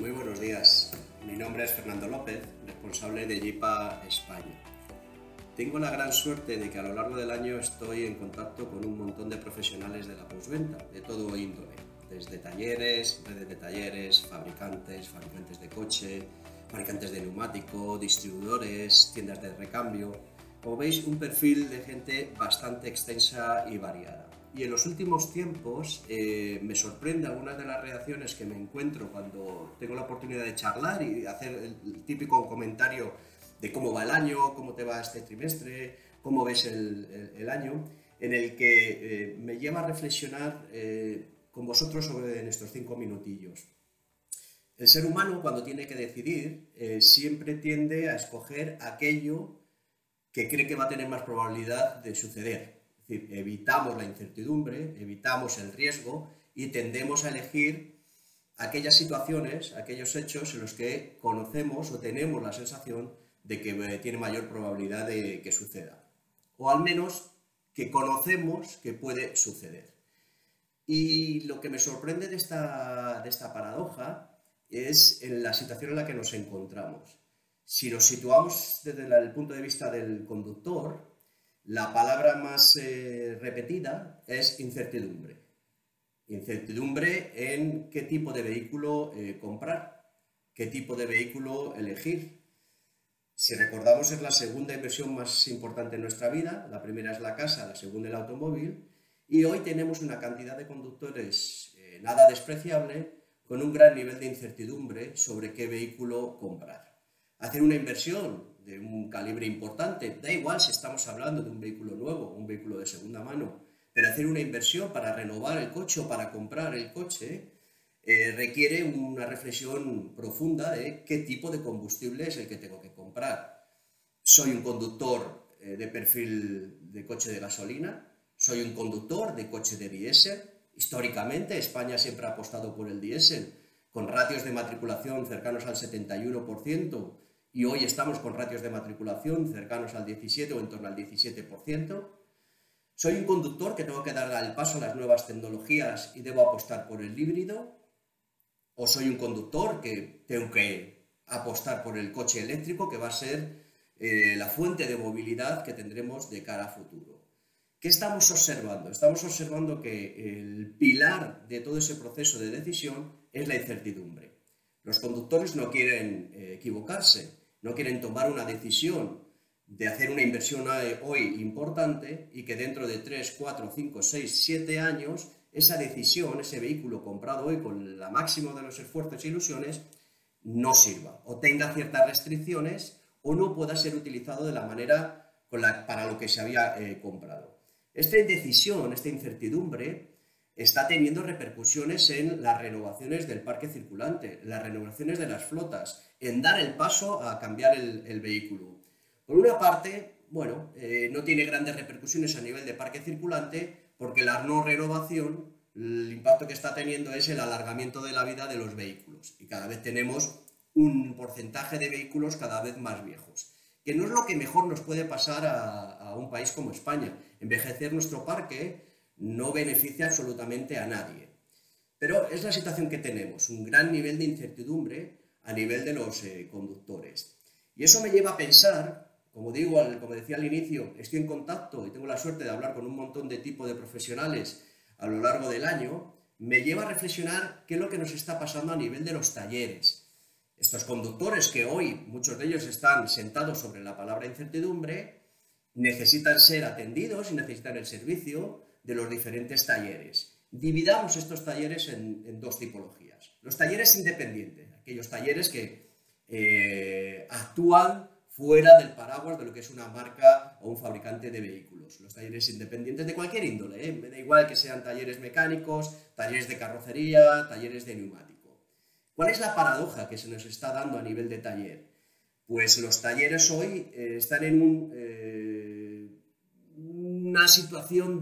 Muy buenos días, mi nombre es Fernando López, responsable de JIPA España. Tengo la gran suerte de que a lo largo del año estoy en contacto con un montón de profesionales de la postventa, de todo índole, desde talleres, redes de talleres, fabricantes de coche, fabricantes de neumático, distribuidores, tiendas de recambio. Como veis, un perfil de gente bastante extensa y variada. Y en los últimos tiempos me sorprende algunas de las reacciones que me encuentro cuando tengo la oportunidad de charlar y hacer el típico comentario de cómo va el año, cómo te va este trimestre, cómo ves el año, en el que me lleva a reflexionar con vosotros sobre nuestros 5 minutillos. El ser humano, cuando tiene que decidir, siempre tiende a escoger aquello que cree que va a tener más probabilidad de suceder. Es decir, evitamos la incertidumbre, evitamos el riesgo y tendemos a elegir aquellas situaciones, aquellos hechos en los que conocemos o tenemos la sensación de que tiene mayor probabilidad de que suceda. O al menos que conocemos que puede suceder. Y lo que me sorprende de esta paradoja es en la situación en la que nos encontramos. Si nos situamos desde el punto de vista del conductor, la palabra más repetida es incertidumbre. Incertidumbre en qué tipo de vehículo comprar, qué tipo de vehículo elegir. Si recordamos, es la segunda inversión más importante en nuestra vida. La primera es la casa, la segunda el automóvil. Y hoy tenemos una cantidad de conductores nada despreciable con un gran nivel de incertidumbre sobre qué vehículo comprar. Hacer una inversión de un calibre importante, da igual si estamos hablando de un vehículo nuevo, un vehículo de segunda mano, pero hacer una inversión para renovar el coche o para comprar el coche requiere una reflexión profunda de qué tipo de combustible es el que tengo que comprar. ¿Soy un conductor de perfil de coche de gasolina? ¿Soy un conductor de coche de diésel? Históricamente, España siempre ha apostado por el diésel, con ratios de matriculación cercanos al 71%, y hoy estamos con ratios de matriculación cercanos al 17 o en torno al 17%. ¿Soy un conductor que tengo que dar el paso a las nuevas tecnologías y debo apostar por el híbrido? ¿O soy un conductor que tengo que apostar por el coche eléctrico, que va a ser la fuente de movilidad que tendremos de cara a futuro? ¿Qué estamos observando? Estamos observando que el pilar de todo ese proceso de decisión es la incertidumbre. Los conductores no quieren equivocarse, no quieren tomar una decisión de hacer una inversión hoy importante y que dentro de 3, 4, 5, 6, 7 años esa decisión, ese vehículo comprado hoy con la máxima de los esfuerzos e ilusiones, no sirva o tenga ciertas restricciones o no pueda ser utilizado de la manera para lo que se había comprado. Esta indecisión, esta incertidumbre está teniendo repercusiones en las renovaciones del parque circulante, las renovaciones de las flotas, en dar el paso a cambiar el vehículo. Por una parte, bueno, no tiene grandes repercusiones a nivel de parque circulante porque la no renovación, el impacto que está teniendo es el alargamiento de la vida de los vehículos y cada vez tenemos un porcentaje de vehículos cada vez más viejos, que no es lo que mejor nos puede pasar a un país como España. Envejecer nuestro parque no beneficia absolutamente a nadie. Pero es la situación que tenemos, un gran nivel de incertidumbre a nivel de los conductores. Y eso me lleva a pensar, como decía al inicio, estoy en contacto y tengo la suerte de hablar con un montón de tipos de profesionales a lo largo del año, me lleva a reflexionar qué es lo que nos está pasando a nivel de los talleres. Estos conductores que hoy, muchos de ellos están sentados sobre la palabra incertidumbre, necesitan ser atendidos y necesitan el servicio de los diferentes talleres. Dividamos estos talleres en dos tipologías. Los talleres independientes, aquellos talleres que actúan fuera del paraguas de lo que es una marca o un fabricante de vehículos. Los talleres independientes de cualquier índole, me da igual que sean talleres mecánicos, talleres de carrocería, talleres de neumático. ¿Cuál es la paradoja que se nos está dando a nivel de taller? Pues los talleres hoy están en una situación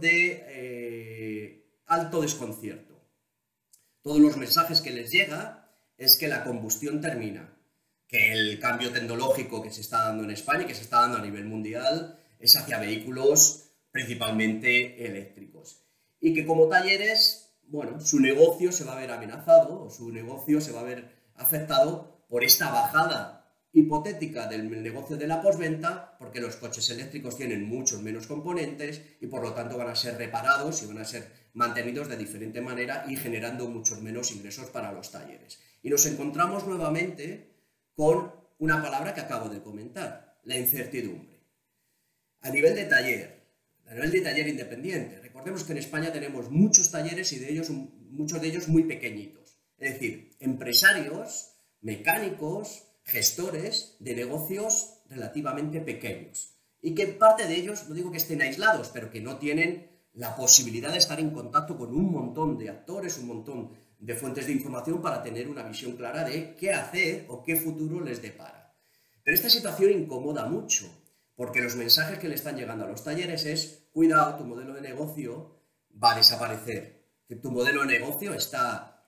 de alto desconcierto. Todos los mensajes que les llega es que la combustión termina, que el cambio tecnológico que se está dando en España y que se está dando a nivel mundial es hacia vehículos principalmente eléctricos. Y que como talleres, bueno, su negocio se va a ver amenazado o su negocio se va a ver afectado por esta bajada hipotética del negocio de la postventa, porque los coches eléctricos tienen muchos menos componentes y por lo tanto van a ser reparados y van a ser mantenidos de diferente manera y generando muchos menos ingresos para los talleres. Y nos encontramos nuevamente con una palabra que acabo de comentar, la incertidumbre. A nivel de taller independiente, recordemos que en España tenemos muchos talleres y muchos de ellos muy pequeñitos. Es decir, empresarios, mecánicos, gestores de negocios relativamente pequeños y que parte de ellos, no digo que estén aislados, pero que no tienen la posibilidad de estar en contacto con un montón de actores, un montón de fuentes de información para tener una visión clara de qué hacer o qué futuro les depara. Pero esta situación incomoda mucho, porque los mensajes que le están llegando a los talleres es: cuidado, tu modelo de negocio va a desaparecer, que tu modelo de negocio está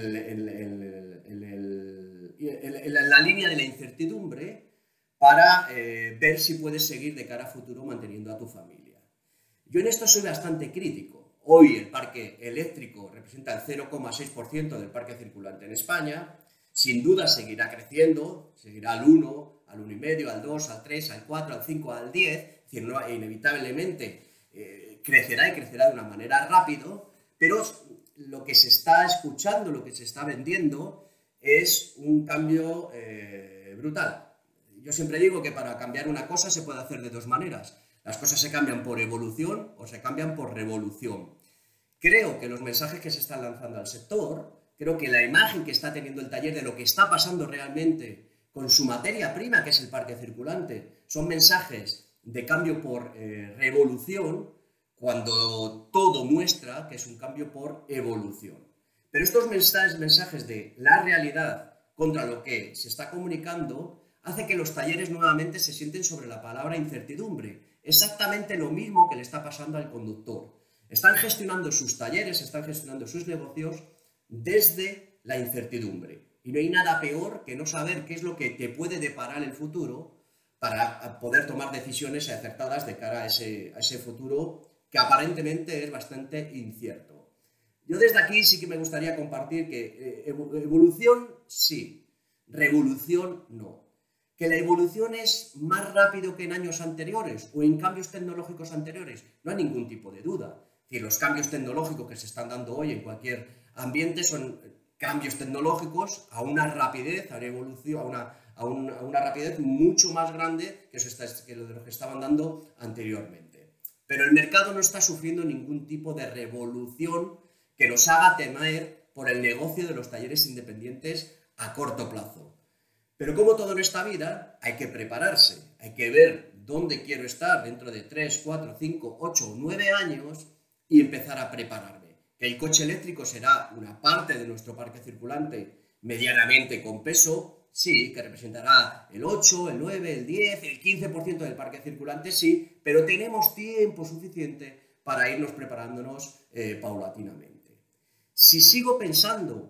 en la línea de la incertidumbre para ver si puedes seguir de cara a futuro manteniendo a tu familia. Yo en esto soy bastante crítico. Hoy el parque eléctrico representa el 0,6% del parque circulante en España. Sin duda seguirá creciendo, seguirá al 1, al 1,5, al 2, al 3, al 4, al 5, al 10. Es decir, no, inevitablemente crecerá y crecerá de una manera rápida, pero lo que se está escuchando, lo que se está vendiendo es un cambio brutal. Yo siempre digo que para cambiar una cosa se puede hacer de dos maneras. Las cosas se cambian por evolución o se cambian por revolución. Creo que los mensajes que se están lanzando al sector, creo que la imagen que está teniendo el taller de lo que está pasando realmente con su materia prima, que es el parque circulante, son mensajes de cambio por revolución, cuando todo muestra que es un cambio por evolución. Pero estos mensajes de la realidad contra lo que se está comunicando hace que los talleres nuevamente se sienten sobre la palabra incertidumbre. Exactamente lo mismo que le está pasando al conductor. Están gestionando sus talleres, están gestionando sus negocios desde la incertidumbre. Y no hay nada peor que no saber qué es lo que te puede deparar el futuro para poder tomar decisiones acertadas de cara a ese futuro que aparentemente es bastante incierto. Yo desde aquí sí que me gustaría compartir que evolución sí, revolución no. Que la evolución es más rápido que en años anteriores o en cambios tecnológicos anteriores, no hay ningún tipo de duda. Es decir, los cambios tecnológicos que se están dando hoy en cualquier ambiente son cambios tecnológicos a una rapidez, a una evolución, a una rapidez mucho más grande que lo de los que estaban dando anteriormente. Pero el mercado no está sufriendo ningún tipo de revolución que nos haga temer por el negocio de los talleres independientes a corto plazo. Pero como todo en esta vida, hay que prepararse, hay que ver dónde quiero estar dentro de 3, 4, 5, 8 o 9 años y empezar a prepararme. Que el coche eléctrico será una parte de nuestro parque circulante medianamente con peso, sí, que representará el 8, el 9, el 10, el 15% del parque circulante, sí, pero tenemos tiempo suficiente para irnos preparándonos paulatinamente. Si sigo pensando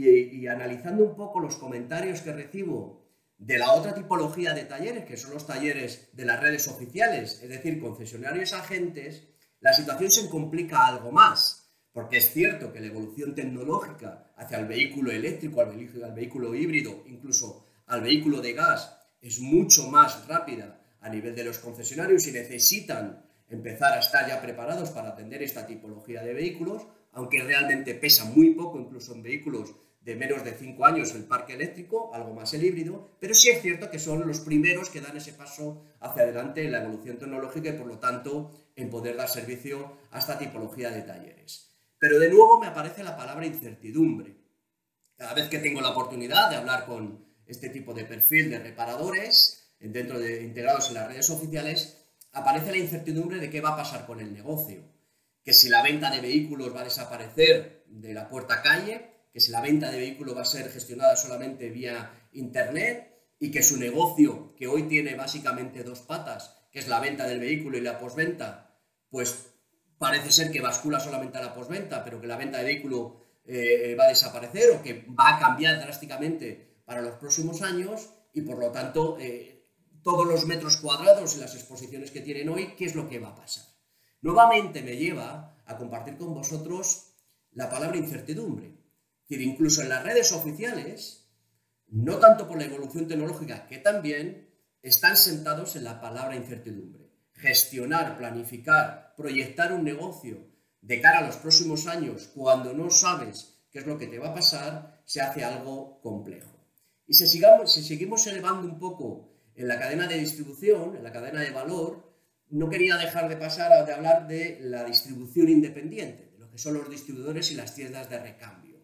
y analizando un poco los comentarios que recibo de la otra tipología de talleres, que son los talleres de las redes oficiales, es decir, concesionarios agentes, la situación se complica algo más, porque es cierto que la evolución tecnológica hacia el vehículo eléctrico, al vehículo híbrido, incluso al vehículo de gas, es mucho más rápida a nivel de los concesionarios y necesitan empezar a estar ya preparados para atender esta tipología de vehículos, aunque realmente pesa muy poco, incluso en vehículos de menos de 5 años el parque eléctrico, algo más el híbrido, pero sí es cierto que son los primeros que dan ese paso hacia adelante en la evolución tecnológica y por lo tanto en poder dar servicio a esta tipología de talleres. Pero de nuevo me aparece la palabra incertidumbre. Cada vez que tengo la oportunidad de hablar con este tipo de perfil de reparadores, integrados en las redes oficiales, aparece la incertidumbre de qué va a pasar con el negocio. Que si la venta de vehículos va a desaparecer de la puerta calle, que si la venta de vehículos va a ser gestionada solamente vía internet y que su negocio, que hoy tiene básicamente dos patas, que es la venta del vehículo y la postventa, pues parece ser que bascula solamente a la postventa, pero que la venta de vehículo va a desaparecer o que va a cambiar drásticamente para los próximos años y por lo tanto todos los metros cuadrados y las exposiciones que tienen hoy, ¿qué es lo que va a pasar? Nuevamente me lleva a compartir con vosotros la palabra incertidumbre. Es decir, incluso en las redes oficiales no tanto por la evolución tecnológica, que también, están sentados en la palabra incertidumbre. Gestionar, planificar, proyectar un negocio de cara a los próximos años cuando no sabes qué es lo que te va a pasar, se hace algo complejo. Y si seguimos elevando un poco en la cadena de distribución, en la cadena de valor, no quería dejar de pasar de hablar de la distribución independiente, de lo que son los distribuidores y las tiendas de recambio.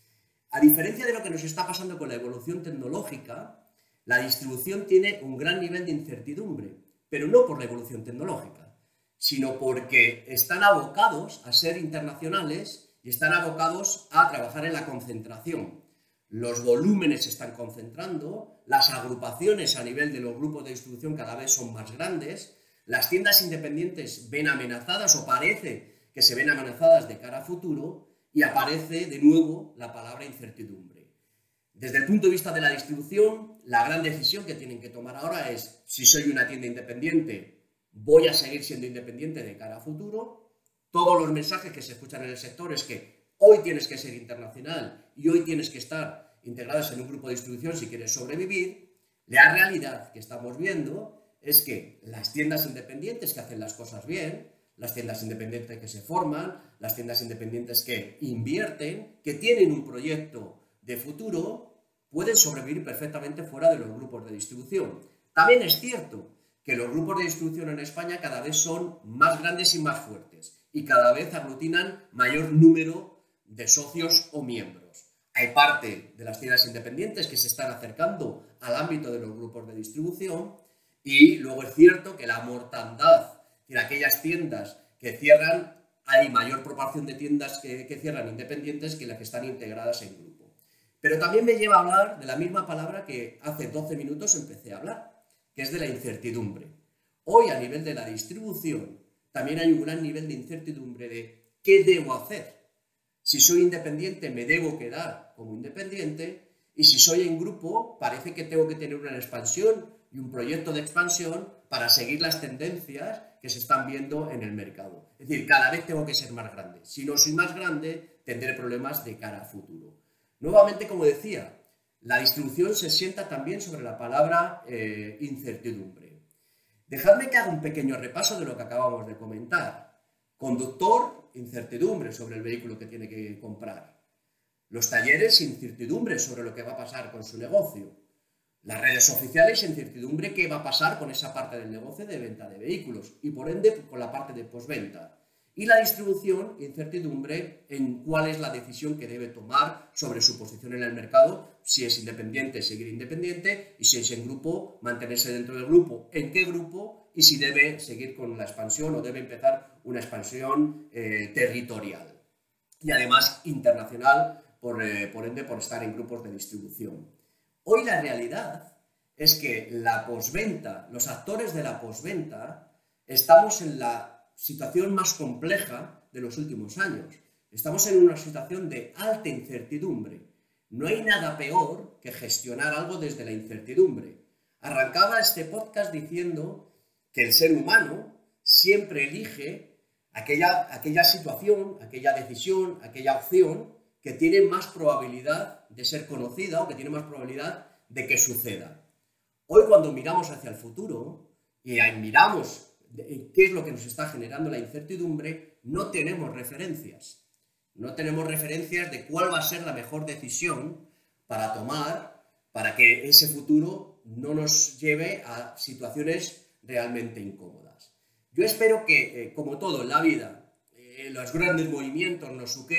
A diferencia de lo que nos está pasando con la evolución tecnológica, la distribución tiene un gran nivel de incertidumbre, pero no por la evolución tecnológica, sino porque están abocados a ser internacionales y están abocados a trabajar en la concentración. Los volúmenes se están concentrando, las agrupaciones a nivel de los grupos de distribución cada vez son más grandes, las tiendas independientes ven amenazadas o parece que se ven amenazadas de cara a futuro y aparece de nuevo la palabra incertidumbre. Desde el punto de vista de la distribución, la gran decisión que tienen que tomar ahora es: si soy una tienda independiente, voy a seguir siendo independiente de cara a futuro. Todos los mensajes que se escuchan en el sector es que hoy tienes que ser internacional y hoy tienes que estar integrados en un grupo de distribución si quieres sobrevivir. La realidad que estamos viendo es que las tiendas independientes que hacen las cosas bien, las tiendas independientes que se forman, las tiendas independientes que invierten, que tienen un proyecto de futuro, pueden sobrevivir perfectamente fuera de los grupos de distribución. También es cierto que los grupos de distribución en España cada vez son más grandes y más fuertes y cada vez aglutinan mayor número de socios o miembros. Hay parte de las tiendas independientes que se están acercando al ámbito de los grupos de distribución y luego es cierto que la mortandad en aquellas tiendas que cierran, hay mayor proporción de tiendas que cierran independientes que las que están integradas en grupo. Pero también me lleva a hablar de la misma palabra que hace 12 minutos empecé a hablar, que es de la incertidumbre. Hoy, a nivel de la distribución, también hay un gran nivel de incertidumbre de qué debo hacer. Si soy independiente, me debo quedar como independiente, y si soy en grupo, parece que tengo que tener una expansión y un proyecto de expansión para seguir las tendencias que se están viendo en el mercado. Es decir, cada vez tengo que ser más grande. Si no soy más grande, tendré problemas de cara a futuro. Nuevamente, como decía, la distribución se sienta también sobre la palabra incertidumbre. Dejadme que haga un pequeño repaso de lo que acabamos de comentar. Conductor, incertidumbre sobre el vehículo que tiene que comprar. Los talleres, incertidumbre sobre lo que va a pasar con su negocio. Las redes oficiales, incertidumbre qué va a pasar con esa parte del negocio de venta de vehículos y por ende con la parte de postventa. Y la distribución, incertidumbre en cuál es la decisión que debe tomar sobre su posición en el mercado, si es independiente, seguir independiente, y si es en grupo, mantenerse dentro del grupo, en qué grupo, y si debe seguir con la expansión o debe empezar una expansión territorial. Y además internacional, por ende, por estar en grupos de distribución. Hoy la realidad es que la postventa, los actores de la postventa, estamos en la situación más compleja de los últimos años. Estamos en una situación de alta incertidumbre. No hay nada peor que gestionar algo desde la incertidumbre. Arrancaba este podcast diciendo que el ser humano siempre elige aquella situación, aquella decisión, aquella opción que tiene más probabilidad de ser conocida o que tiene más probabilidad de que suceda. Hoy, cuando miramos hacia el futuro y miramos qué es lo que nos está generando la incertidumbre, no tenemos referencias. No tenemos referencias de cuál va a ser la mejor decisión para tomar para que ese futuro no nos lleve a situaciones realmente incómodas. Yo espero que, como todo en la vida, los grandes movimientos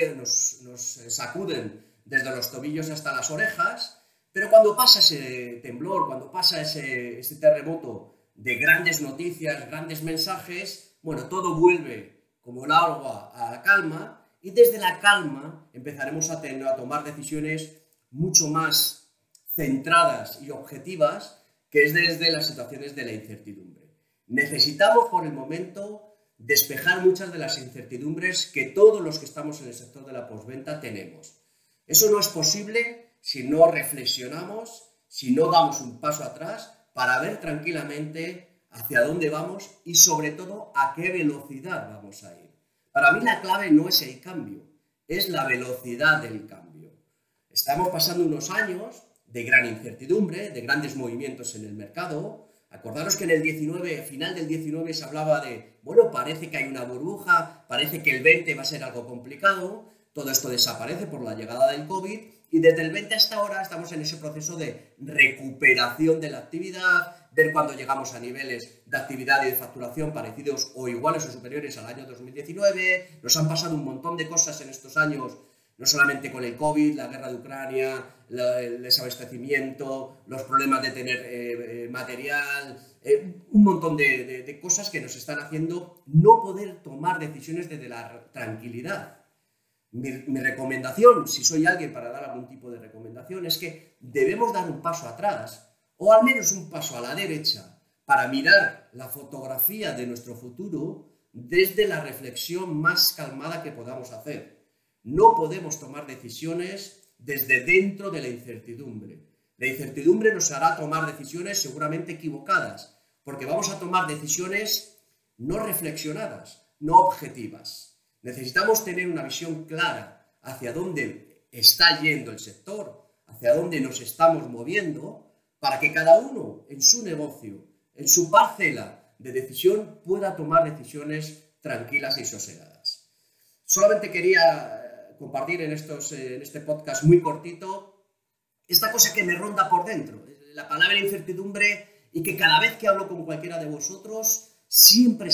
nos sacuden desde los tobillos hasta las orejas, pero cuando pasa ese temblor, cuando pasa ese terremoto de grandes noticias, grandes mensajes, bueno, todo vuelve como el agua a la calma y desde la calma empezaremos a tomar decisiones mucho más centradas y objetivas que es desde las situaciones de la incertidumbre. Necesitamos por el momento despejar muchas de las incertidumbres que todos los que estamos en el sector de la postventa tenemos. Eso no es posible si no reflexionamos, si no damos un paso atrás para ver tranquilamente hacia dónde vamos y sobre todo a qué velocidad vamos a ir. Para mí la clave no es el cambio, es la velocidad del cambio. Estamos pasando unos años de gran incertidumbre, de grandes movimientos en el mercado. Acordaros que en el 19, final del 19 se hablaba de, bueno, parece que hay una burbuja, parece que el 20 va a ser algo complicado. Todo esto desaparece por la llegada del COVID y desde el 20 hasta ahora estamos en ese proceso de recuperación de la actividad, ver cuándo llegamos a niveles de actividad y de facturación parecidos o iguales o superiores al año 2019. Nos han pasado un montón de cosas en estos años, no solamente con el COVID, la guerra de Ucrania, el desabastecimiento, los problemas de tener material, un montón de cosas que nos están haciendo no poder tomar decisiones desde la tranquilidad. Mi recomendación, si soy alguien para dar algún tipo de recomendación, es que debemos dar un paso atrás o al menos un paso a la derecha para mirar la fotografía de nuestro futuro desde la reflexión más calmada que podamos hacer. No podemos tomar decisiones desde dentro de la incertidumbre. La incertidumbre nos hará tomar decisiones seguramente equivocadas, porque vamos a tomar decisiones no reflexionadas, no objetivas. Necesitamos tener una visión clara hacia dónde está yendo el sector, hacia dónde nos estamos moviendo, para que cada uno en su negocio, en su parcela de decisión, pueda tomar decisiones tranquilas y sosegadas. Solamente quería compartir en este podcast muy cortito esta cosa que me ronda por dentro, la palabra incertidumbre, y que cada vez que hablo con cualquiera de vosotros siempre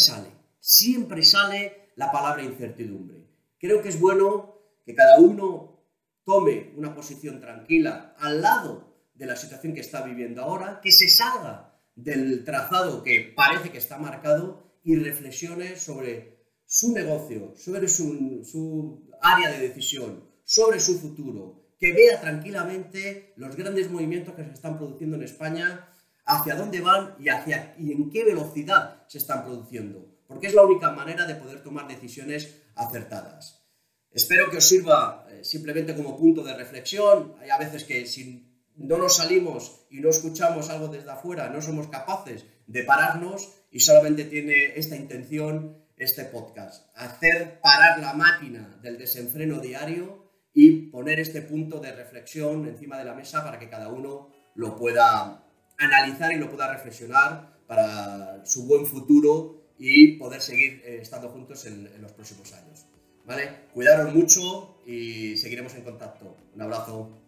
sale la palabra incertidumbre. Creo que es bueno que cada uno tome una posición tranquila al lado de la situación que está viviendo ahora, que se salga del trazado que parece que está marcado y reflexione sobre su negocio, sobre su área de decisión, sobre su futuro, que vea tranquilamente los grandes movimientos que se están produciendo en España, hacia dónde van y en qué velocidad se están produciendo, porque es la única manera de poder tomar decisiones acertadas. Espero que os sirva simplemente como punto de reflexión. Hay a veces que si no nos salimos y no escuchamos algo desde afuera, no somos capaces de pararnos, y solamente tiene esta intención este podcast: hacer parar la máquina del desenfreno diario y poner este punto de reflexión encima de la mesa para que cada uno lo pueda analizar y lo pueda reflexionar para su buen futuro y poder seguir estando juntos en los próximos años. ¿Vale? Cuidaros mucho y seguiremos en contacto. Un abrazo.